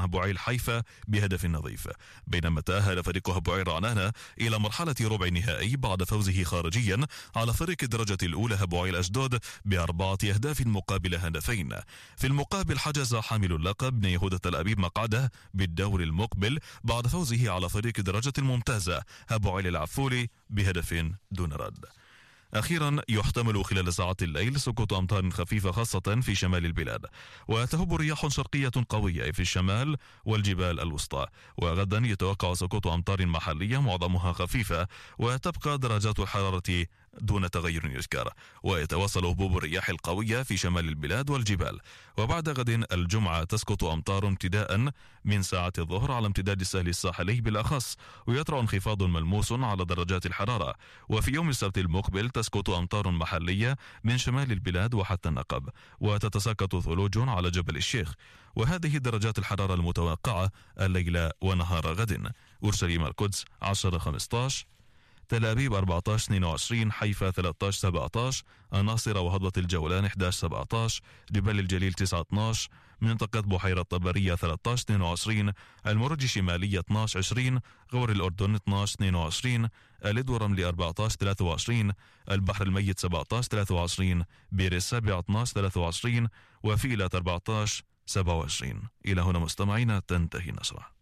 بوعيل حيفا بهدف نظيف، بينما تأهل فريق بوعيل رعنانة إلى مرحلة ربع النهائي بعد فوزه خارجيا على فريق الدرجة الأولى بوعيل أشدود ب4 أهداف مقابل هدفين. في المقابل حجز حامل اللقب يهودة تل أبيب مقعده بالدور المقبل بعد فوزه على فريق الدرجة الممتازة بوعيل العفولي بهدف دون رد. أخيرا يحتمل خلال ساعات الليل سقوط أمطار خفيفة خاصة في شمال البلاد، وتهب رياح شرقية قوية في الشمال والجبال الوسطى. وغدا يتوقع سقوط أمطار محلية معظمها خفيفة، وتبقى درجات الحرارة دون تغير يذكر، ويتواصل هبوب الرياح القوية في شمال البلاد والجبال. وبعد غد الجمعة تسقط أمطار ابتداء من ساعة الظهر على امتداد السهل الساحلي بالأخص، ويطرأ انخفاض ملموس على درجات الحرارة. وفي يوم السبت المقبل تسقط أمطار محلية من شمال البلاد وحتى النقب، وتتساقط ثلوج على جبل الشيخ. وهذه درجات الحرارة المتوقعة الليلة ونهار غد: أورشليم القدس 10-15، تل أبيب 14-22، حيفا 13-17، الناصرة وهضبة الجولان 11-17، جبال الجليل 9-12، منطقة بحيرة طبرية 13-22، المرج الشمالية 12-20، غور الأردن 12-22، الإد ورملي 14-23، البحر الميت 17-23، بير السابع 12-23، وفيلة 14-27. إلى هنا مستمعينا تنتهي النشرة.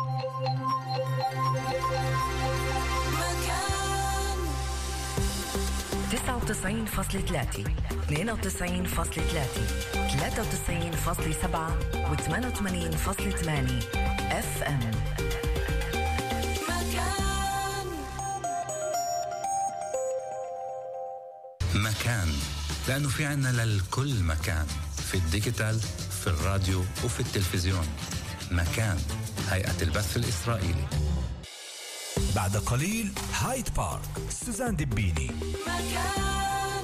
99.3 92.3 93.8 و88.8 FM. مكان، لأنه في عنا للكل مكان، في الديجيتال، في الراديو وفي التلفزيون. مكان، هيئة البث الإسرائيلي. بعد قليل هايد بارك، سوزان دبيني. مكان.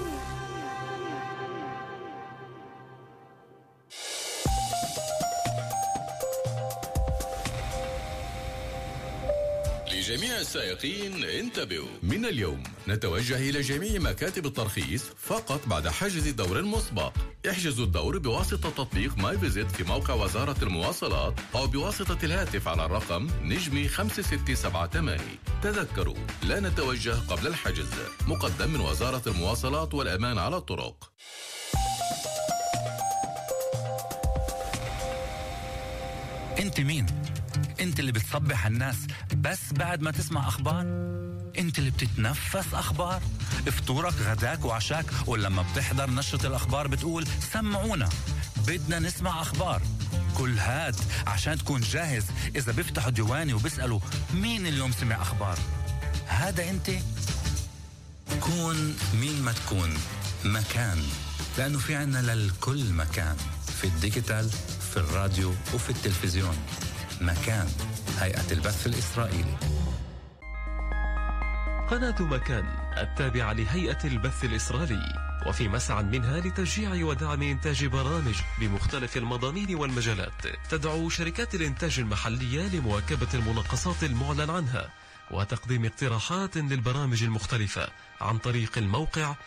لجميع السائقين انتبهوا، من اليوم نتوجه إلى جميع مكاتب الترخيص فقط بعد حجز دور مسبق. احجزوا الدور بواسطة تطبيق ماي فيزيت في موقع وزارة المواصلات أو بواسطة الهاتف على الرقم نجمي 5678. تذكروا، لا نتوجه قبل الحجز. مقدم من وزارة المواصلات والأمان على الطرق. انت مين؟ انت اللي بتصبح الناس بس بعد ما تسمع اخبار؟ انت اللي بتتنفس اخبار؟ فطورك غداك وعشاك، ولما بتحضر نشرة الاخبار بتقول سمعونا بدنا نسمع اخبار. كل هاد عشان تكون جاهز اذا بيفتحوا ديواني وبيسألوا مين اليوم سمع اخبار. هذا انت. كون مين ما تكون. مكان، لانه في عنا للكل مكان، في الديجيتال، في الراديو وفي التلفزيون. مكان، هيئة البث الإسرائيلي. قناة مكان التابعة لهيئة البث الإسرائيلي، وفي مسعى منها لتشجيع ودعم إنتاج برامج بمختلف المضامين والمجالات. تدعو شركات الإنتاج المحلية لمواكبة المناقصات المعلن عنها وتقديم اقتراحات للبرامج المختلفة عن طريق الموقع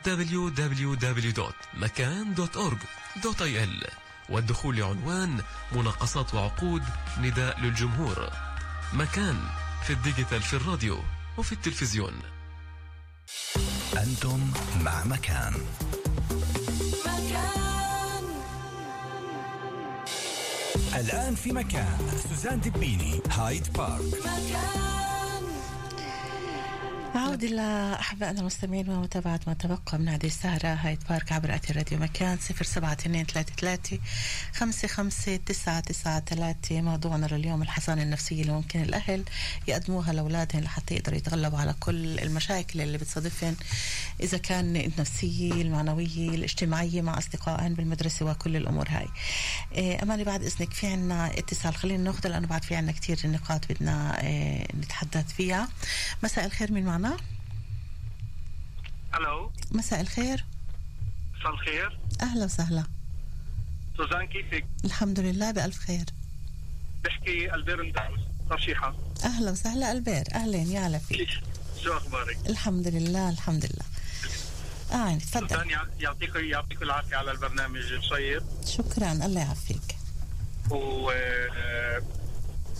www.makan.org.il، والدخول لعنوان مناقصات وعقود نداء للجمهور. مكان، في الديجيتال، في الراديو وفي التلفزيون. أنتم مع مكان. الآن في مكان سوزان دبيني، هايد بارك. نعود إلى أحبائنا المستمعين ومتابعة ما تبقى من هذه السهرة هايد بارك عبر أثير راديو مكان 0723355993. موضوعنا لليوم الحصانة النفسية اللي ممكن الأهل يقدموها لأولادهم لحتى يقدروا يتغلبوا على كل المشاكل اللي بتصادفهم، إذا كان النفسية، المعنوية، الاجتماعية مع أصدقائهم بالمدرسة وكل الأمور هاي. أماني بعد إذنك في عنا اتصال، خلينا ناخذ لأنه بعد في عنا كتير نقاط بدنا نتحدث فيها. مساء الخير، من معنا؟ الو، مساء الخير. مساء الخير، اهلا وسهلا. سوزان كيفك؟ الحمد لله بألف خير. بحكي البير مدعوس ترشيحة. اهلا وسهلا البير، اهلين يا هلا فيك. شو اخبارك؟ الحمد لله الحمد لله. تفضل. سوزان يعطيك العافية على البرنامج الشيق. شكرا، الله يعافيك. و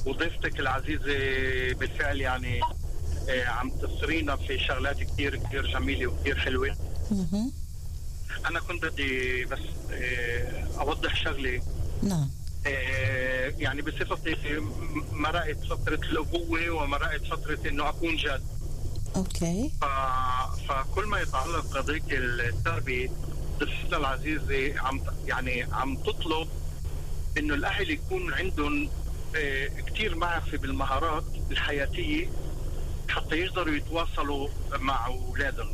وضيفتك العزيزة بالفعل يعني عم تصرينا في شغلات كتير كتير جميلة وكتير حلوة. أنا كنت بدي بس أوضح شغلة. نعم. يعني بصفتي مرقت فترة الأبوة ومرقت فترة إنه أكون جد. أوكي. فكل ما يتعلق بقضية التربية ضيفتنا العزيزة عم تطلب إنه الأهل يكون عندهم كتير معرفة بالمهارات الحياتية حتى يقدروا يتواصلوا مع أولادهم.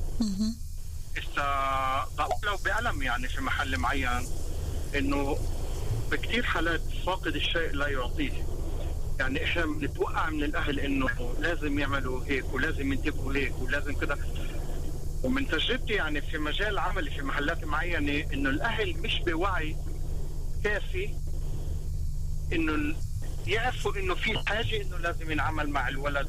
لو بألم يعني في محل معين إنه بكتير حالات فاقد الشيء لا يعطيه. يعني إحنا بنتوقع من الأهل إنه لازم يعملوا هيك ولازم ينتبهوا هيك ولازم كده. ومن تجربتي يعني في مجال عملي في محلات معينة إنه الأهل مش بوعي كافي إنه يعرفوا إنه في حاجة إنه لازم ينعمل مع الولد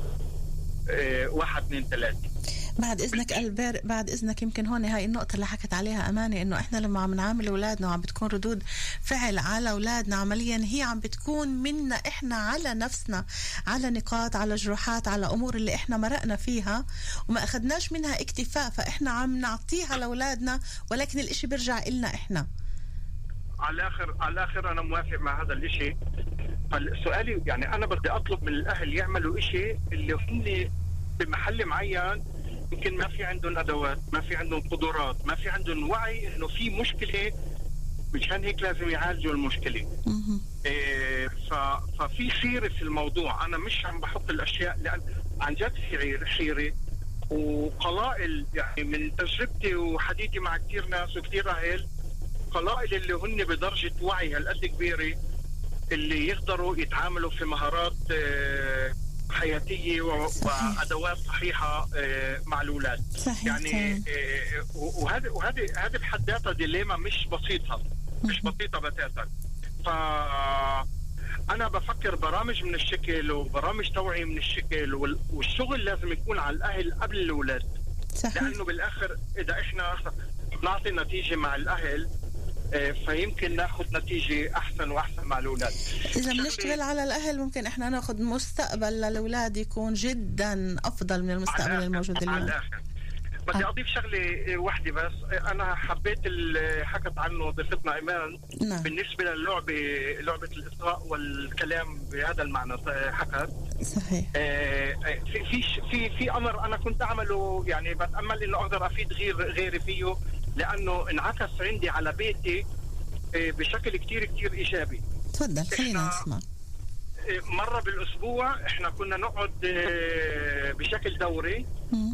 1 2 3. بعد إذنك ألبير، بعد إذنك يمكن هون هاي النقطة اللي حكت عليها أمانة، إنه إحنا لما عم نعامل أولادنا وعم بتكون ردود فعل على أولادنا عمليا هي عم بتكون منا إحنا على نفسنا، على نقاط، على جروحات، على أمور اللي إحنا مرقنا فيها وما أخذناش منها اكتفاء، فإحنا عم نعطيها لأولادنا ولكن الإشي بيرجع إلنا إحنا. على الآخر أنا موافق مع هذا الإشي. فالسؤالي يعني أنا بدي أطلب من الأهل يعملوا إشي اللي هم بمحل معين يمكن ما في عندهم أدوات، ما في عندهم قدرات، ما في عندهم وعي إنه في مشكلة، مشان هيك لازم يعالجوا المشكلة. ففي حيرة في الموضوع. أنا مش عم بحط الأشياء لأن عن جد في حيرة وقلائل. يعني من تجربتي وحديثي مع كتير ناس وكتير أهل، قلائل اللي هن بدرجة وعي هالقد كبيرة اللي يقدروا يتعاملوا في مهارات حياتية وأدوات صحيحة مع الأولاد. يعني وهذه بحد ذاتها ديليما مش بسيطة بتاتا. فأنا بفكر برامج من الشكل وبرامج توعية من الشكل، والشغل لازم يكون على الأهل قبل الأولاد. لأنه بالآخر إذا إحنا نعطي نتيجة مع الأهل فيمكن ناخذ نتيجة أحسن وأحسن مع الأولاد. إذا بنشتغل على الأهل ممكن إحنا ناخذ مستقبل للأولاد يكون جدا أفضل من المستقبل الموجود اليوم. بدي أضيف شغلة واحدة بس. أنا حبيت اللي حكت عنه ضيفتنا إيمان. نعم. بالنسبة لعبة الإصغاء والكلام بهذا المعنى حكت. صحيح. في أمر أنا كنت أعمله، يعني بتأمل إنه أقدر أفيد غيري فيه، لأنه انعكس عندي على بيتي بشكل كتير كتير إيجابي. تفضل خلينا نسمع. مرة بالأسبوع إحنا كنا نقعد بشكل دوري.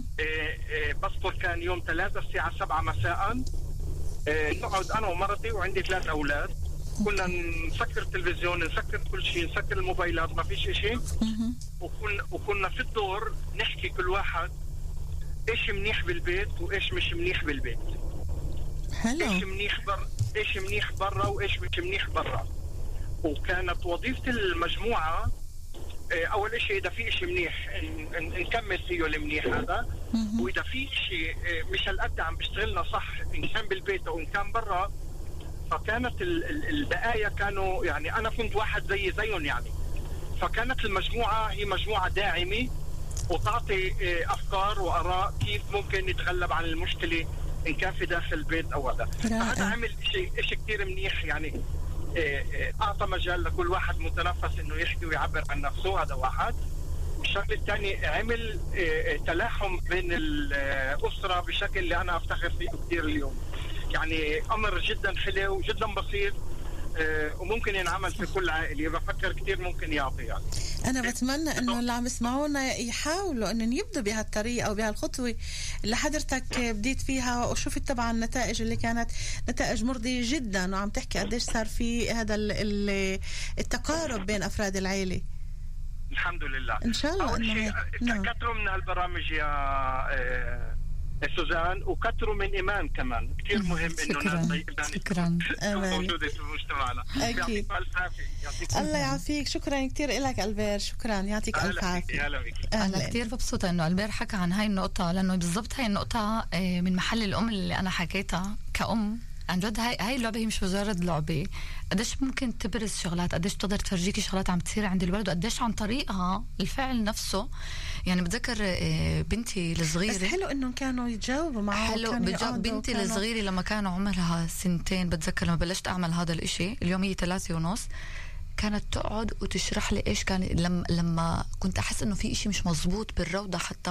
بذكر كان يوم 3 الساعة 7 مساء نقعد أنا ومرتي وعندي 3 أولاد. كنا نسكر التلفزيون، نسكر كل شيء، نسكر الموبايلات، ما فيش إشي. وكنا في الدور نحكي كل واحد إيش منيح بالبيت وإيش مش منيح بالبيت. حلو. إيش منيح برا وإيش مش منيح برا. وكانت وظيفة المجموعة أول إشي إذا في إشي منيح نكمل فيه المنيح هذا، وإذا في إشي مش هالقد عم بيشتغلنا صح إن كان بالبيت أو إن كان برا، فكانت البقايا كانوا يعني أنا كنت واحد زيهم يعني. فكانت المجموعة هي مجموعة داعمة وتعطي أفكار وآراء كيف ممكن نتغلب عن المشكلة إن كان في داخل البيت أو هذا. فهذا عمل إشي كتير منيح، يعني أعطى مجال لكل واحد متنفس إنه يحكي ويعبر عن نفسه. هذا واحد. والشغل الثاني عمل تلاحم بين الأسرة بشكل اللي أنا أفتخر فيه كتير اليوم. يعني أمر جدا حلو وجدا بسيط وممكن ينعمل في كل عائلة. بفكر كتير ممكن يعطي يعني. أنا بتمنى إنه اللي عم يسمعونا يحاولوا إنه يبدوا بهالطريقة أو بهالخطوة اللي حضرتك بديت فيها، وشوفت طبعا النتائج اللي كانت نتائج مرضية جدا، وعم تحكي قديش صار في هذا التقارب بين أفراد العائلة. الحمد لله. إن شاء الله. أول شيء كثروا من هالبرامج يا سوزان، وكثروا من إيمان كمان. كتير مهم إنه شكرا موجودة في مجتمعنا. أكيد. الله يعافيك. شكرا كتير لك ألبير. شكرا، يعطيك ألف عافية. أنا كتير مبسوطة إنه ألبير حكى عن هاي النقطة، لأنه بالضبط هاي النقطة من محل الأم اللي أنا حكيتها كأم. عن جد هاي اللعبة هي مش مجرد لعبة. قديش ممكن تبرز شغلات، قديش تقدر تفرجيكي شغلات عم تصير عند الولد، وقديش عن طريقها الفعل نفسه. يعني بتذكر بنتي الصغيرة، بس حلو انهم كانوا يتجاوبوا معه. حلو. بنتي الصغيرة لما كانوا عمرها 2 بتذكر لما بلشت اعمل هذا الاشي، اليوم هي 3.5، كانت تقعد وتشرح لي ايش كان لما كنت احس انه في اشي مش مزبوط بالروضة حتى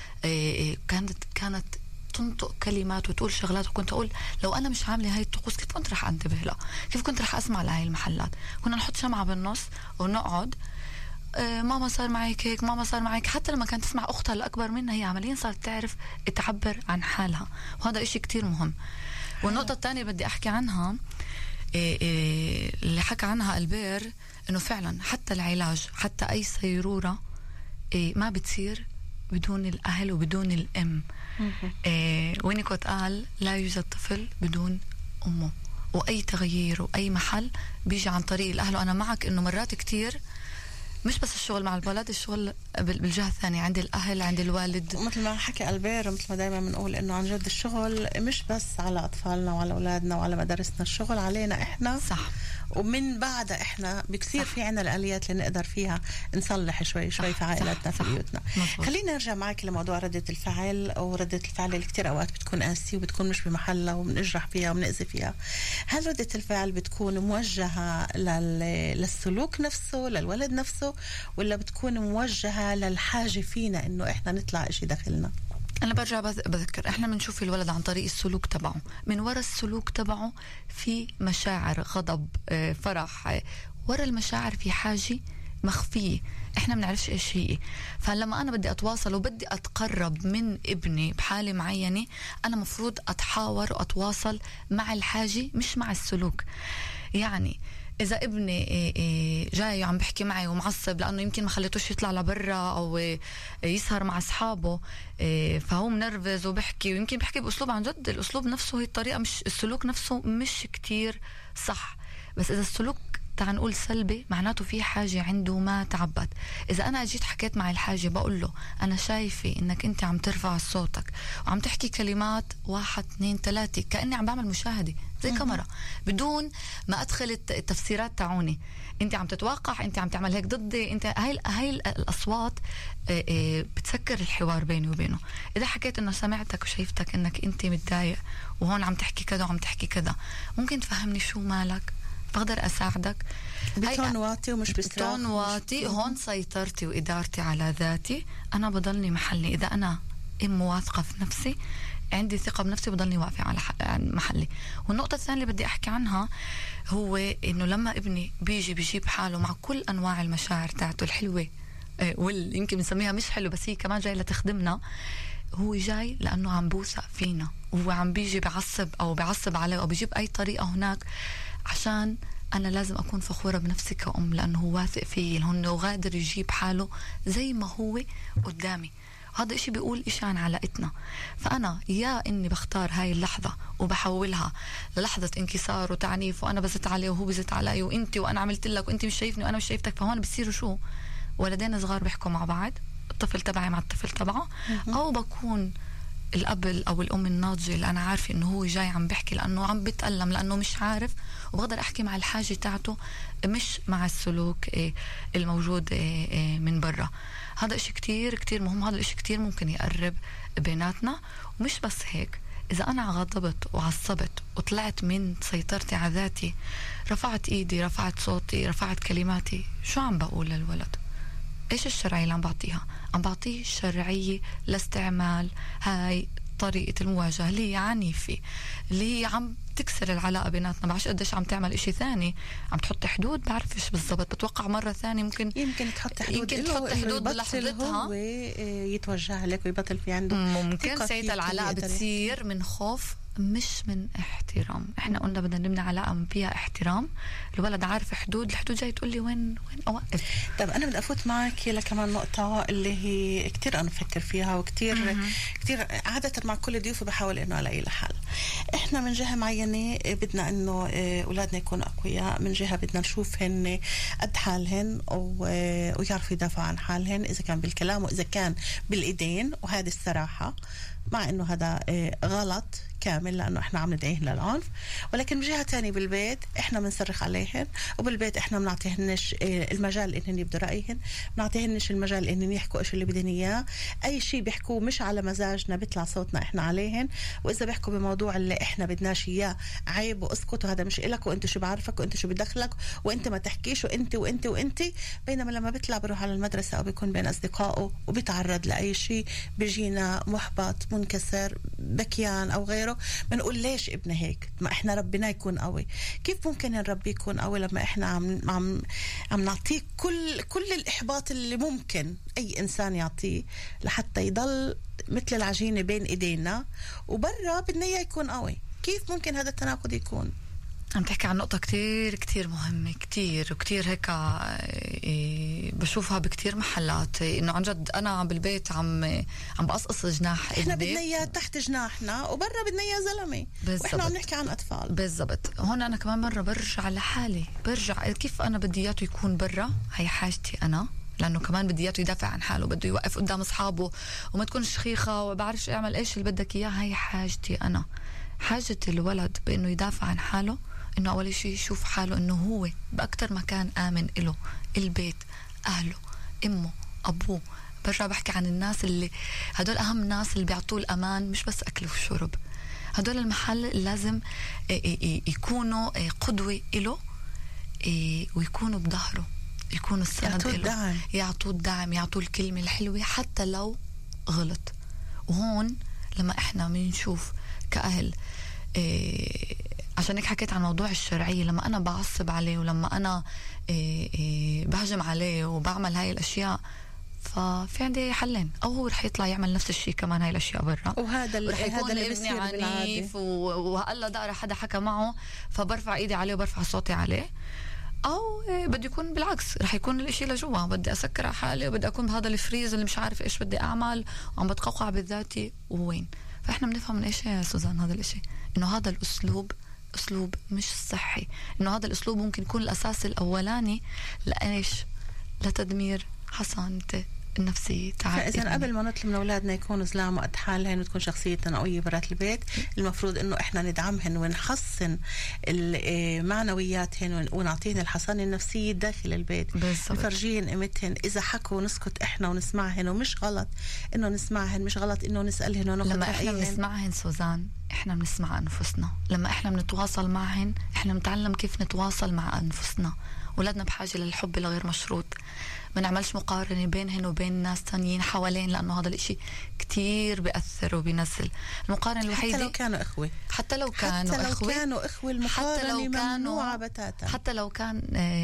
كانت تنطق كلمات وتقول شغلات، وكنت أقول لو أنا مش عاملة هاي الطقوس كيف كنت رح أنتبه لها، كيف كنت رح أسمع لهاي المحلات. كنا نحط شمعة بالنص ونقعد ماما صار معك هيك، ماما صار معك. حتى لما كانت تسمع أختها الأكبر منها هي عمليا صارت تعرف تعبر عن حالها، وهذا إشي كتير مهم. والنقطة الثانية بدي أحكي عنها اللي حكى عنها ألبير، إنه فعلا حتى العلاج، حتى أي صيرورة ما بتصير بدون الأهل وبدون الأم. وينيكوت قال لا يوجد طفل بدون أمه، وأي تغيير وأي محل بيجي عن طريق الأهل. وأنا معك إنه مرات كتير مش بس الشغل مع الولد، الشغل بالجهة الثانية عند الأهل، عند الوالد. مثل ما حكي ألبير، مثل ما دايما بنقول إنه عن جد الشغل مش بس على أطفالنا وعلى أولادنا وعلى مدارسنا، الشغل علينا إحنا. صح. ومن بعد إحنا بكثير في عنا الآليات اللي نقدر فيها نصلح شوي في عائلاتنا في بيوتنا. خلينا نرجع معك لموضوع ردة الفعل، أو ردة الفعل اللي كتير أوقات بتكون قاسية وبتكون مش بمحلها وبنجرح فيها وبنأذي فيها. هل ردة الفعل بتكون موجهة للسلوك نفسه، للولد نفسه، ولا بتكون موجهة للحاجة فينا إنه إحنا نطلع إشي داخلنا؟ أنا برجع بذكر إحنا بنشوف الولد عن طريق السلوك تبعه، من وراء السلوك تبعه في مشاعر غضب، فرح، وراء المشاعر في حاجة مخفية إحنا بنعرفش إيش هي. فلما أنا بدي أتواصل وبدي أتقرب من ابني بحالة معينة، أنا مفروض أتحاور وأتواصل مع الحاجة مش مع السلوك. يعني إذا ابني جاي وعم بحكي معي ومعصب لأنه يمكن ما خليتوش يطلع لبرا أو يسهر مع أصحابه، فهو منرفز وبحكي، ويمكن بحكي بأسلوب عن جد الأسلوب نفسه هي الطريقة، مش السلوك نفسه مش كتير صح. بس إذا السلوك تعال نقول سلبي، معناته في حاجة عنده ما تعبت. إذا أنا أجيت حكيت مع الحاجة بقول له أنا شايفة إنك أنت عم ترفع صوتك وعم تحكي كلمات 1 2 3 كأني عم بعمل مشاهدة زي كاميرا، بدون ما أدخل التفسيرات تاعوني، أنت عم تتوقع، أنت عم تعمل هيك ضدي، أنت هاي الأصوات بتسكر الحوار بيني وبينه. إذا حكيت إنه سمعتك وشايفتك إنك أنت متضايق وهون عم تحكي كذا وعم تحكي كذا، ممكن تفهمني شو مالك؟ بقدر أساعدك بتون واطي ومش بصراخ. بتون واطي. هون سيطرتي وإدارتي على ذاتي، أنا بضلني محلي. إذا أنا واثقة في نفسي، عندي ثقة بنفسي، بضلني واقفة على محلي. والنقطة الثانية اللي بدي أحكي عنها هو إنه لما ابني بيجيب حاله مع كل أنواع المشاعر تاعته الحلوة يمكن بنسميها مش حلو بس هي كمان جاي لتخدمنا، هو جاي لأنه عم بوثق فينا، وهو عم بيجي بعصب عليه أو بيجيب أي طريقة هناك، عشان أنا لازم أكون فخورة بنفسي كأم، لأنه هو واثق فيه، لأنه غادر يجيب حاله زي ما هو قدامي. هذا إشي بيقول إشي عن علاقتنا. فأنا يا إني بختار هاي اللحظة وبحولها للحظة انكسار وتعنيف، وأنا بزت عليه وهو بزت علي، وإنتي وأنا عملت لك وإنتي مش شايفني وأنا مش شايفتك. فهون بيصيروا شو؟ ولدين صغار بيحكوا مع بعض، الطفل تبعي مع الطفل تبعه، أو بكون الأب أو الأم الناضجة اللي أنا عارفة إنه هو جاي عم بحكي لأنه عم بتألم، لأنه مش عارف، وبقدر أحكي مع الحاجة تاعته مش مع السلوك الموجود من برا. هذا إشي كتير كتير مهم، هذا الإشي كتير ممكن يقرب بيناتنا. ومش بس هيك، إذا أنا غضبت وعصبت وطلعت من سيطرتي على ذاتي، رفعت إيدي، رفعت صوتي، رفعت كلماتي، شو عم بقول للولد؟ إيش الشرعية اللي عم بعطيها؟ عم بعطيه الشرعية لاستعمال هاي طريقة المواجهة اللي هي عنيفة، اللي هي عم تكسر العلاقة بيناتنا. بعرفش قديش عم تعمل إشي ثاني، عم تحط حدود، بعرفش بالضبط، بتوقع مرة ثانية ممكن تحط حدود بلحظتها ويتوجه لك ويبطل في عنده ممكن ساعتها العلاقة بتصير من خوف مش من احترام. احنا قلنا بدنا نبني علاقة فيها احترام، الولد عارف حدود، الحدود جاي تقول لي وين اوقف. طب انا بدي افوت معك لكمان نقطة اللي هي كتير انا بفكر فيها، وكتير كتير عادة مع كل ضيوفي بحاول انه الاقي لها حل. احنا من جهة معينة بدنا انه اولادنا يكونوا اقوياء، من جهة بدنا نشوفهن قد حالهن ويعرفوا يدافعوا عن حالهن، اذا كان بالكلام واذا كان بالايدين، وهذه الصراحة مع انه هذا غلط كامل لانه احنا عم ندعيهن للعنف، ولكن بجهه تانية بالبيت احنا بنصرخ عليهن، وبالبيت احنا بنعطيهنش المجال انهن يبدوا رايهن، بنعطيهنش المجال انهن يحكوا ايش اللي بدهن اياه. اي شيء بيحكوه مش على مزاجنا بيطلع صوتنا احنا عليهن، واذا بيحكوا بموضوع اللي احنا بدناش اياه عيب واسكت وهذا مش إلك وانت شو بعرفك وانت شو بدخلك وانت ما تحكيش وانت وانت وانت. بينما لما بيطلع بروح على المدرسه او بيكون بين اصدقائه وبيتعرض لاي شيء بيجينا محبط منكسر بكيان او غيره، بنقول ليش ابنه هيك؟ ما احنا ربنا يكون قوي. كيف ممكن نربي يكون قوي لما احنا عم نعطيه كل الاحباط اللي ممكن اي انسان يعطيه لحتى يضل مثل العجينه بين ايدينا، وبرا بدنا اياه يكون قوي؟ كيف ممكن هذا التناقض يكون؟ عم تحكي عن نقطة كتير كتير مهمة، كتير وكتير هيك بشوفها بكتير محلات، انه عن جد انا بالبيت عم بقصقص جناح احنا بدنا اياه تحت جناحنا وبرا بدنا اياه زلمة، واحنا عم نحكي عن اطفال. بالضبط. هون انا كمان مرة برجع لحالي، برجع كيف انا بدي اياه يكون برا، هي حاجتي انا، لانه كمان بدي اياه يدافع عن حاله، بده يوقف قدام اصحابه وما تكون شخيخة وبعرفش اعمل ايش اللي بدك اياه. هي حاجتي انا. حاجة الولد بانه يدافع عن حاله انه اول شيء يشوف حاله انه هو باكتر مكان امن له، البيت، اهله، امه، ابوه. برجع بحكي عن الناس اللي هدول اهم ناس اللي بيعطوه الامان، مش بس اكل وشرب. هدول المحل لازم يكونوا قدوة له، ويكونوا بظهره، يكونوا السند له، يعطوه الدعم، يعطوه الكلمة الحلوة حتى لو غلط. وهون لما احنا بنشوف كأهل عشان هيك حكيت عن موضوع الشرعية، لما أنا بعصب عليه ولما أنا بهجم عليه وبعمل هاي الأشياء، ففي عندي حلين: أو هو رح يطلع يعمل نفس الشيء كمان هاي الأشياء برا، وهذا رح يكون ابني عنيف وهلا دار حدا حكى معه فبرفع إيدي عليه وبرفع صوتي عليه، أو بدي يكون بالعكس، رح يكون الاشي لجوا، بدي أسكر على حالي وبدي أكون بهذا الفريز اللي مش عارف إيش بدي أعمل وعم بتقوقع بذاتي وين. فإحنا بنفهم من إيش يا سوزان هذا الاشي، إنه هذا الأسلوب أسلوب مش صحي، إنه هذا الأسلوب ممكن يكون الأساس الأولاني لإيش؟ لتدمير حصانته النفسية تاعت. فإذا قبل ما نطلب من أولادنا يكونوا زلام وقد حالهن وتكون شخصيتنا قوية برات البيت، المفروض إنه إحنا ندعمهن ونحسن معنوياتهن ونعطيهن الحصانة النفسية داخل البيت. نفرجيهن قيمتهن. إذا حكوا نسكت إحنا ونسمعهن، ومش غلط إنه نسمعهن، مش غلط إنه نسألهن وناخد لما إحنا بنسمعهن سوزان إحنا بنسمع أنفسنا. لما إحنا بنتواصل معهن إحنا بنتعلم كيف نتواصل مع أنفسنا. ولادنا بحاجة للحب الغير مشروط، ما نعملش مقارنة بينهن وبين ناس تانيين حوالين، لأنه هذا الاشي كتير بيأثر وبينزل. المقارنة الوحيدة حتى لو كانوا إخوة، حتى لو كانوا إخوة المقارنة ممنوعة بتاتا. حتى لو كان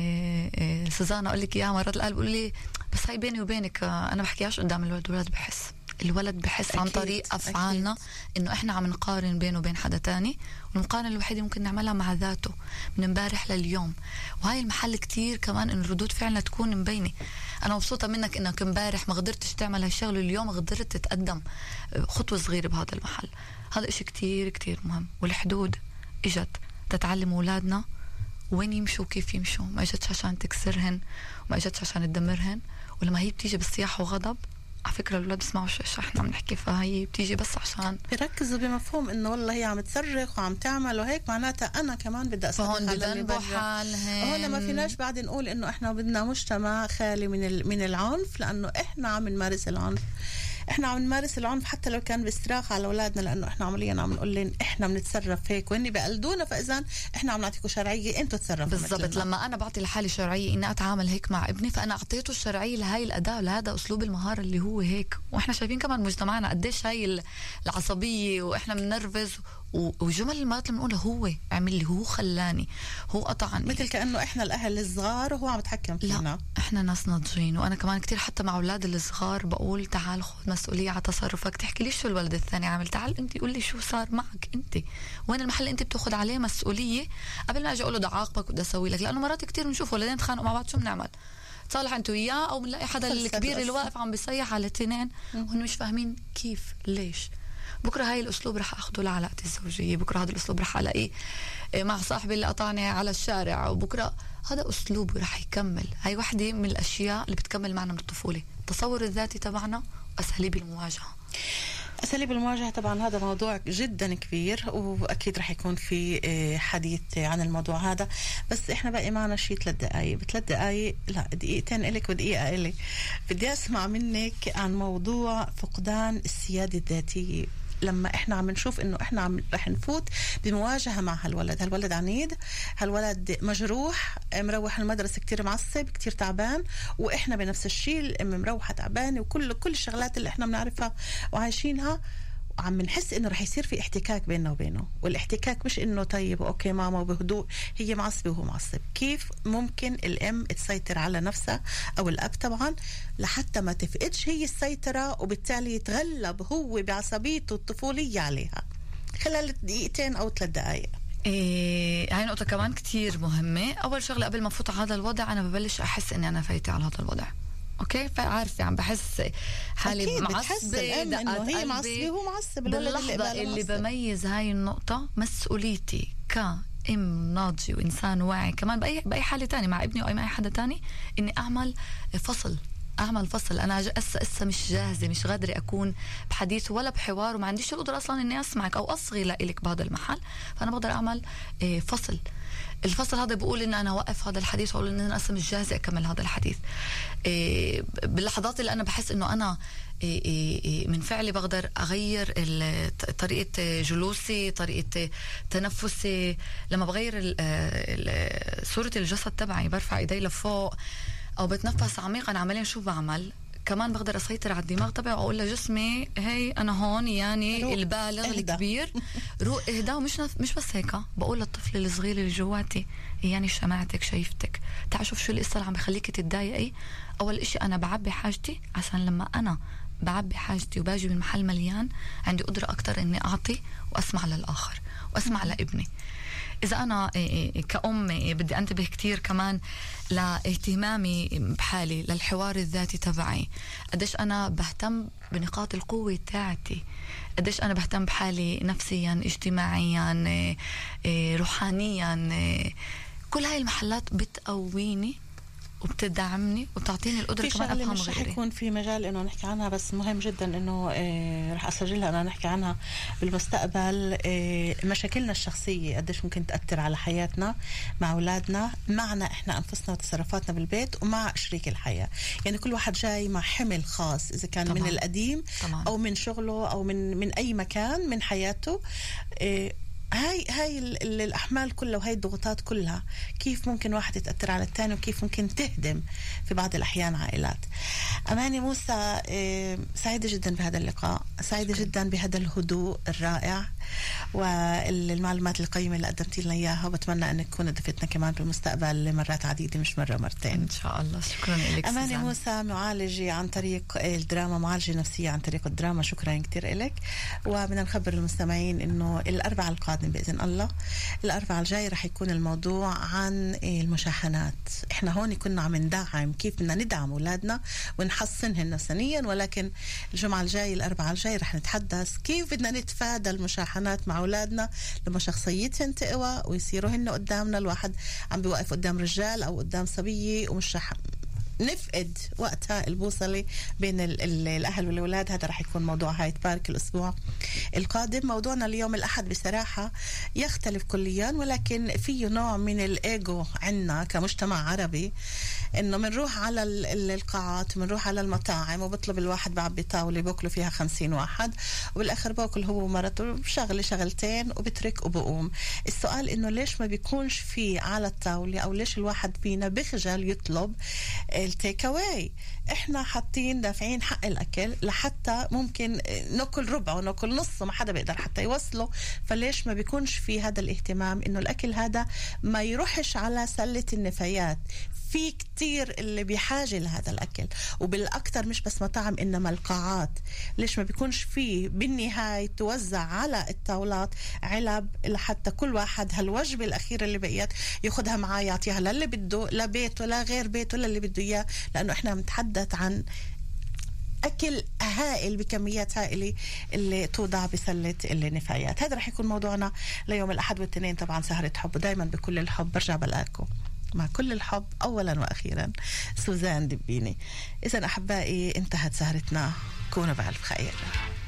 سوزانا أقول لك إياها مرات القلب بقول لي بس هاي بيني وبينك أنا بحكيهاش قدام الولد الولد بحس عن طريق أفعالنا إنه إحنا عم نقارن بينه وبين حدا تاني. والمقارنة الوحيدة ممكن نعملها مع ذاته من امبارح لليوم. وهاي المحل كتير كمان إن ردود فعلنا تكون مبينة. أنا مبسوطة منك إنك امبارح ما قدرتش تعمل هالشغل، اليوم قدرت تتقدم خطوة صغيرة بهذا المحل. هذا إشي كتير كتير مهم. والحدود إجت تتعلم أولادنا وين يمشوا وكيف يمشوا، ما إجتش عشان تكسرهن وما إجتش عشان تدمرهن. ولما هي بتيجي بالصياح وغضب، على فكرة الأولاد بسمعوا ايش احنا عم نحكي، فهي بتيجي بس عشان يركزوا بمفهوم انه والله هي عم تصرخ وعم تعمل وهيك معناتها انا كمان بدي اصرخ. فهون بذنبوا حالهم. هون ما فيناش بعد نقول انه احنا بدنا مجتمع خالي من العنف، لانه احنا عم نمارس العنف. احنا عم نمارس العنف حتى لو كان باستراخة على اولادنا، لانه احنا عمليا عم نقول لهم احنا بنتصرف هيك وهن بقلدونا، فاذا احنا عم نعطيكم شرعيه انتم تصرفوا بالضبط. لما انا بعطي لحالي شرعيه اني اتعامل هيك مع ابني، فانا اعطيته الشرعيه لهي الاداه لهذا اسلوب المهاره اللي هو هيك. واحنا شايفين كمان مجتمعنا قديش هاي العصبيه واحنا بننرفز وجمل المرات اللي بنقولها هو عمل لي، هو خلاني، هو قطعني، مثل كأنه إحنا الأهل الصغار وهو عم يتحكم فينا. لا إحنا ناس ناضجين. وأنا كمان كتير حتى مع أولاد الصغار بقول تعال خذ مسؤولية على تصرفك. تحكي ليش شو الولد الثاني عامل، تعال أنت قول لي شو صار معك أنت، وين المحل أنت بتاخد عليه مسؤولية قبل ما أجي أقول له ده عاقبك وده أسوي لك. لأنه مرات كتير بنشوف ولدين تخانقوا مع بعض، شو بنعمل؟ تصالح أنت وياه، أو بنلاقي حدا الكبير اللي واقف عم بيصيح على الاثنين وهم مش فاهمين كيف ليش. بكرة هاي الأسلوب رح أخده لعلاقتي الزوجية، بكرة هذا الأسلوب رح ألاقيه مع صاحبي اللي قطعني على الشارع، وبكرة هذا أسلوب رح يكمل. هاي واحدة من الأشياء اللي بتكمل معنا من الطفولة، التصور الذاتي تبعنا وأساليب المواجهة. أساليب المواجهة طبعا هذا موضوع جدا كبير، وأكيد رح يكون في حديث عن الموضوع هذا، بس إحنا باقي معنا شيء 3 دقايق. ب3 دقايق لا دقيقتين إلك ودقيقة إلي. بدي أسمع منك عن موضوع فقدان السيادة الذاتية. لما احنا عم نشوف انه احنا رح نفوت بمواجهة مع هالولد عنيد، هالولد مجروح، مروح المدرسة كتير معصب كتير تعبان، واحنا بنفس الشيء الام مروحة تعبانة، وكل الشغلات اللي احنا بنعرفها وعايشينها، وعم نحس انه رح يصير في احتكاك بيننا وبينه. والاحتكاك مش انه طيب اوكي ماما بهدوء، هي معصبة وهو معصب. كيف ممكن الام تسيطر على نفسها او الاب طبعا لحتى ما تفقدش هي السيطرة، وبالتالي يتغلب هو بعصبيته الطفولية عليها خلال 2 أو 3 دقائق؟ هاي نقطة كمان كتير مهمة. أول شغلة قبل ما فوت على هذا الوضع أنا ببلش أحس إني أنا فايتة على هذا الوضع. أوكي، فعارفة عم بحس حالي معصبة، إنه هي معصبة وهو معصب. باللحظة اللي بميز هاي النقطة مسؤوليتي كأم ناضجة وإنسان واعي كمان بأي حالة تانية مع ابني أو مع أي حدا تاني، إني أعمل فصل. أنا لسه مش جاهزة، مش قادرة أكون بحديث ولا بحوار، وما عنديش القدرة أصلا إني أسمعك أو أصغي لإلك بهذا المحل. فأنا بقدر أعمل فصل. الفصل هذا بقول إن أنا وقف هذا الحديث، وأقول إن أنا أصلا مش جاهزة أكمل هذا الحديث. باللحظات اللي أنا بحس إنه أنا من فعلي بقدر أغير طريقة جلوسي، طريقة تنفسي. لما بغير صورة الجسد تبعي، برفع إيدي لفوق أو بتنفس عميقا عمليا، شو بعمل؟ كمان بقدر أسيطر على الدماغ تبعي وأقول لجسمي هي أنا هون، يعني البالغ الكبير روح اهدى. ومش بس هيك، بقول للطفل الصغير اللي جواتي يعني سمعتك شايفتك، تعال شوف شو القصة اللي عم بخليكي تتضايقي. أول إشي أنا بعبي حاجتي، عشان لما أنا بعبي حاجتي وباجي من محل مليان عندي قدرة أكتر إني أعطي وأسمع للآخر وأسمع لابني. إذا أنا كأم بدي أنتبه كتير كمان لاهتمامي بحالي، للحوار الذاتي تبعي، قديش أنا بهتم بنقاط القوة تاعتي، قديش أنا بهتم بحالي نفسيا، اجتماعيا، روحانيا. كل هاي المحلات بتقويني وبتدعمني وبتعطيني القدرة كمان أفهم غيري. مش رح يكون في مجال إنه نحكي عنها، بس مهم جدا إنه رح أسجلها أنا نحكي عنها بالمستقبل. مشاكلنا الشخصية قديش ممكن تأثر على حياتنا مع أولادنا، معنا إحنا أنفسنا وتصرفاتنا بالبيت، ومع شريك الحياة. يعني كل واحد جاي مع حمل خاص، إذا كان طبعاً من القديم طبعاً أو من شغله أو من أي مكان من حياته. هاي الأحمال كلها وهاي الضغوطات كلها كيف ممكن واحد يتأثر على الثاني، وكيف ممكن تهدم في بعض الأحيان عائلات. أماني موسى، سعيدة جدا بهذا اللقاء، سعيدة جدا بهذا الهدوء الرائع والمعلومات القيمة اللي قدمتي لنا إياها، وبتمنى أنك تكون ضيفتنا كمان بالمستقبل لمرات عديدة مش مرة مرتين إن شاء الله. شكرا لك أماني موسى، معالجة عن طريق الدراما، معالجة نفسية عن طريق الدراما. شكرا كتير لك. وبدنا نخبر المستمعين إنه الأربعاء القادم بإذن الله، الأربعاء الجاي رح يكون الموضوع عن المشاحنات. إحنا هون كنا عم ندعم كيف بدنا ندعم أولادنا ونحصنهم نفسيا، ولكن الجمعة الجاي الأربعاء الجاي رح نتحدث كيف بدنا نتفادى المشاحنات مع أولادنا لما شخصيتهم تقوى ويصيروا هن قدامنا. الواحد عم بيوقف قدام رجال أو قدام صبية ومش رح نفقد وقتها البوصلة بين الأهل والأولاد. هذا رح يكون موضوع هايد بارك الأسبوع القادم. موضوعنا اليوم الأحد بصراحة يختلف كليا، ولكن فيه نوع من الإيجو عنا كمجتمع عربي، إنه منروح على القاعات ومنروح على المطاعم وبطلب الواحد بعبي طاولة بوكله فيها 50 واحد، وبالآخر باكل هو ومرته شغلتين وبترك وبقوم. السؤال إنه ليش ما بيكونش فيه على الطاولة، أو ليش الواحد فينا بخجل يطلب التيك اواي؟ احنا حاطين دافعين حق الاكل لحتى ممكن ناكل ربع وناكل نص، ما حدا بيقدر حتى يوصله. فليش ما بيكونش في هذا الاهتمام انه الاكل هذا ما يروحش على سلة النفايات؟ في كتير اللي بحاجة لهذا الأكل، وبالأكثر مش بس مطاعم إنما القاعات. ليش ما بيكونش فيه بالنهاية توزع على الطاولات علب لحتى كل واحد هالوجبة الأخيرة اللي بقيت ياخدها معاه يعطيها للي بده، لا بيت ولا غير بيت ولا اللي بده إياه، لأنه إحنا بنتحدث عن أكل هائل بكميات هائلة اللي توضع بسلة النفايات. هذا رح يكون موضوعنا ليوم الأحد والتنين. طبعا سهرة حب، ودايما بكل الحب برجع بلاقيكم مع كل الحب أولا وأخيرا سوزان دبيني. إذن أحبائي انتهت سهرتنا، كونوا بألف خير.